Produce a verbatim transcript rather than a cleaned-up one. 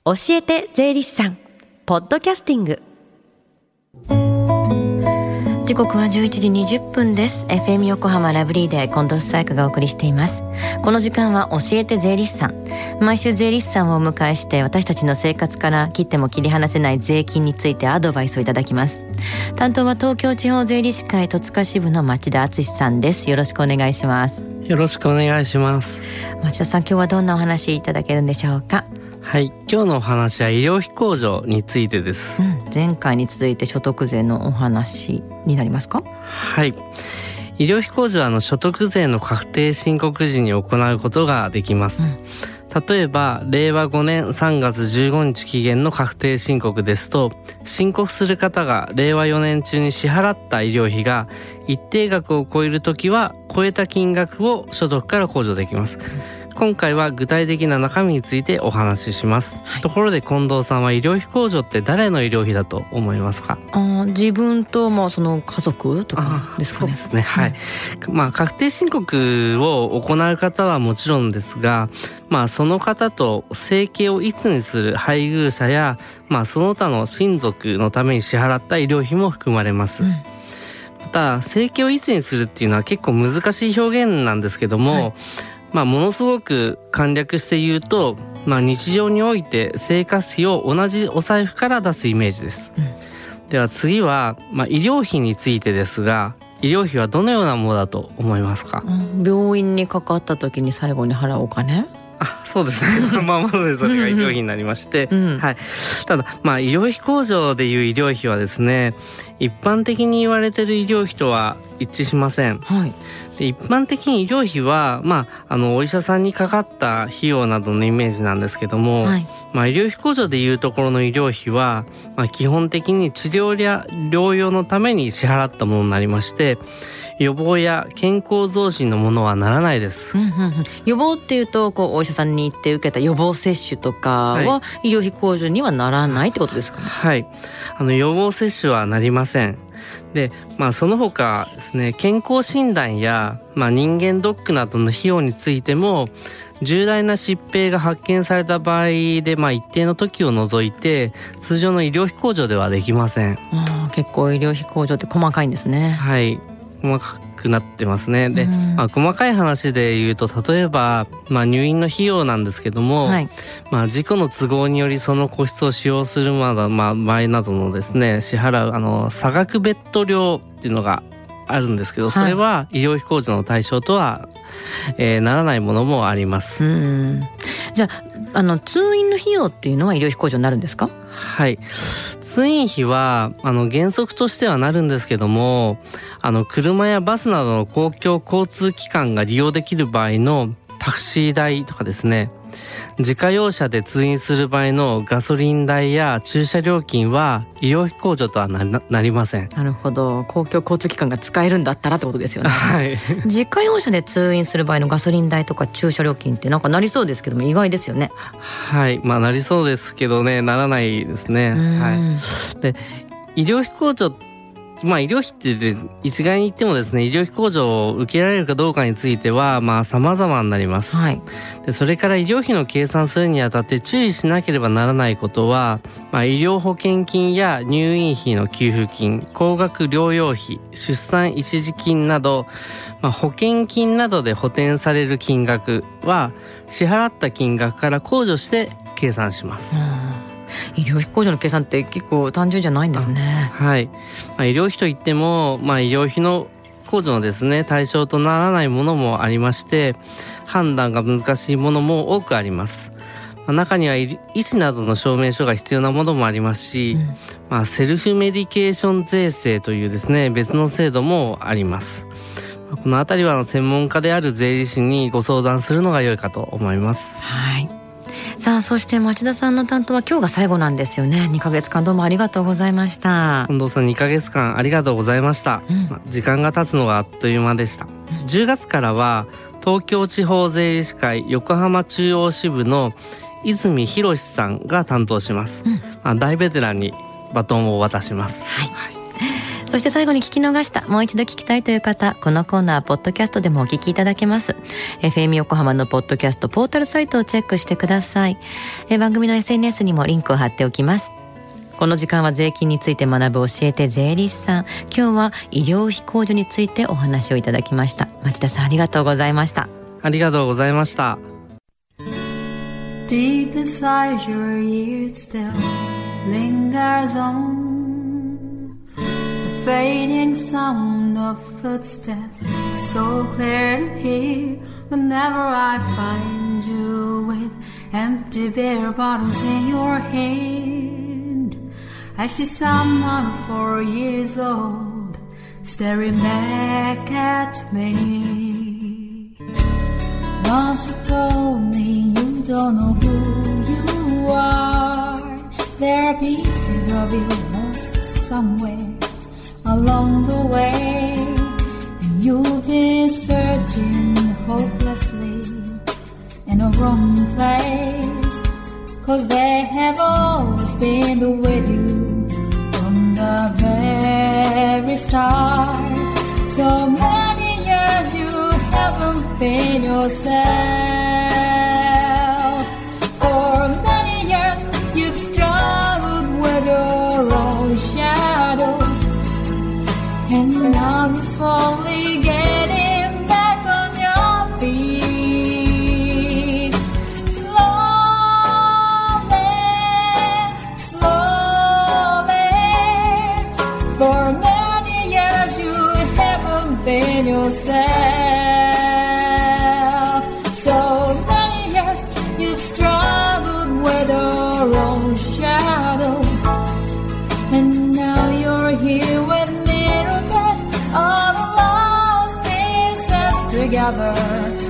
教えて税理士さんポッドキャスティング。時刻はじゅういちじにじゅっぷんです。 エフエム 横浜ラブリーで近藤紗友香がお送りしています。この時間は教えて税理士さん。毎週税理士さんをお迎えして私たちの生活から切っても切り離せない税金についてアドバイスをいただきます。担当は東京地方税理士会戸塚支部の町田敦さんです。よろしくお願いします。 よろしくお願いします。 町田さん、今日はどんなお話いただけるんでしょうか？ はい、今日のお話は医療費控除についてです、 うん、前回に続いて所得税のお話になりますか？ はい、医療費控除はあの所得税の確定申告時に行うことができます、うん、例えばれいわごねんさんがつじゅうごにち期限の確定申告ですと、申告する方がれいわよねん中に支払った医療費が一定額を超えるときは超えた金額を所得から控除できます、うん。今回は具体的な中身についてお話しします、はい、ところで近藤さんは医療費控除って誰の医療費だと思いますか？ あ、自分とまあその家族とかですかね。 そうですね、はい、うん、まあ、確定申告を行う方はもちろんですが、まあ、その方と生計を一にする配偶者や、まあ、その他の親族のために支払った医療費も含まれます、うん。また生計を一にするっていうのは結構難しい表現なんですけども、はい、まあ、ものすごく簡略して言うと、まあ、日常において生活費を同じお財布から出すイメージです、うん。では次は、まあ、医療費についてですが、医療費はどのようなものだと思いますか？ うん、病院にかかった時に最後に払うお金？ あ、そうですねまあまずそれが医療費になりまして、うんうん、はい、ただ、まあ、医療費控除でいう医療費はですね、一般的に言われている医療費とは一致しません、はい。で一般的に医療費は、まあ、あのお医者さんにかかった費用などのイメージなんですけども、はい、まあ、医療費控除でいうところの医療費は、まあ、基本的に治療や療養のために支払ったものになりまして、予防や健康増進のものはならないです、うんうんうん。 予防っていうとこうお医者さんに行って受けた予防接種とかは医療費控除にはならないってことですかね？ はい、あの予防接種はなりません。で、まあ、その他ですね、健康診断や、まあ、人間ドックなどの費用についても重大な疾病が発見された場合で、まあ、一定の時を除いて通常の医療費控除ではできません。 あ、結構医療費控除って細かいんですね。 はい、細かくなってますね。で、まあ、細かい話で言うと、例えば、まあ、入院の費用なんですけども、はい、まあ、事故の都合によりその個室を使用するまだ、まあ、場合などのですね、支払うあの差額ベッド料っていうのがあるんですけど、それは医療費控除の対象とは、えー、ならないものもあります。 うん、じゃあ、あの通院の費用っていうのは医療費控除になるんですか？ はい、通院費はあの原則としてはなるんですけども、あの車やバスなどの公共交通機関が利用できる場合のタクシー代とかですね、自家用車で通院する場合のガソリン代や駐車料金は医療費控除とは な, なりません。 なるほど、公共交通機関が使えるんだったらってことですよね、 はい、 自家用車で通院する場合のガソリン代とか駐車料金ってなんかなりそうですけども意外ですよね。 はい、まあなりそうですけどね、ならないですね。はい、で医療費控除、まあ、医療費って一概に言ってもですね、医療費控除を受けられるかどうかについてはまあ様々になります、はい。でそれから医療費の計算するにあたって注意しなければならないことは、まあ、医療保険金や入院費の給付金、高額療養費、出産一時金など、まあ、保険金などで補填される金額は支払った金額から控除して計算します。うん、 医療費控除の計算って結構単純じゃないんですね。 はい、まあ、医療費といっても、まあ、医療費の控除のですね対象とならないものもありまして、判断が難しいものも多くあります。まあ、中には医師などの証明書が必要なものもありますし、うん、まあ、セルフメディケーション税制というですね別の制度もあります。まあ、このあたりは専門家である税理士にご相談するのが良いかと思います。 はい。さあ、そして町田さんの担当は今日が最後なんですよね。にかげつかんどうもありがとうございました。 近藤さん、にかげつかんありがとうございました、うん。まあ、時間が経つのがあっという間でした、うん、じゅうがつからは東京地方税理士会横浜中央支部の泉博さんが担当します、うん。まあ、大ベテランにバトンを渡します。 はい。 そして最後に聞き逃した、もう一度聞きたいという方、このコーナーポッドキャストでもお聞きいただけます。 エフエム 横浜のポッドキャストポータルサイトをチェックしてください。え番組の エスエヌエス にもリンクを貼っておきます。この時間は税金について学ぶ教えて税理士さん、今日は医療費控除についてお話をいただきました。町田さん、ありがとうございました。 ありがとうございました。 Deep inside your ears still lingers on the fading sound of footsteps, so clear to hear whenever I find you with empty beer bottles in your hand. I see someone four years old staring back at me. Once you told me you don't know who you are, there are pieces of you lost somewhere along the way, and you've been searching hopelessly in a wrong place, 'cause they have always been with you from the very start. So many years you haven't been yourself. For many years you've struggled with your own shadow, and now you're slowly getting back on your feet. Slowly, slowly. For many years you haven't been yourself. So many years you've struggled with your own shadow, and now you're here with me, all the lost pieces together.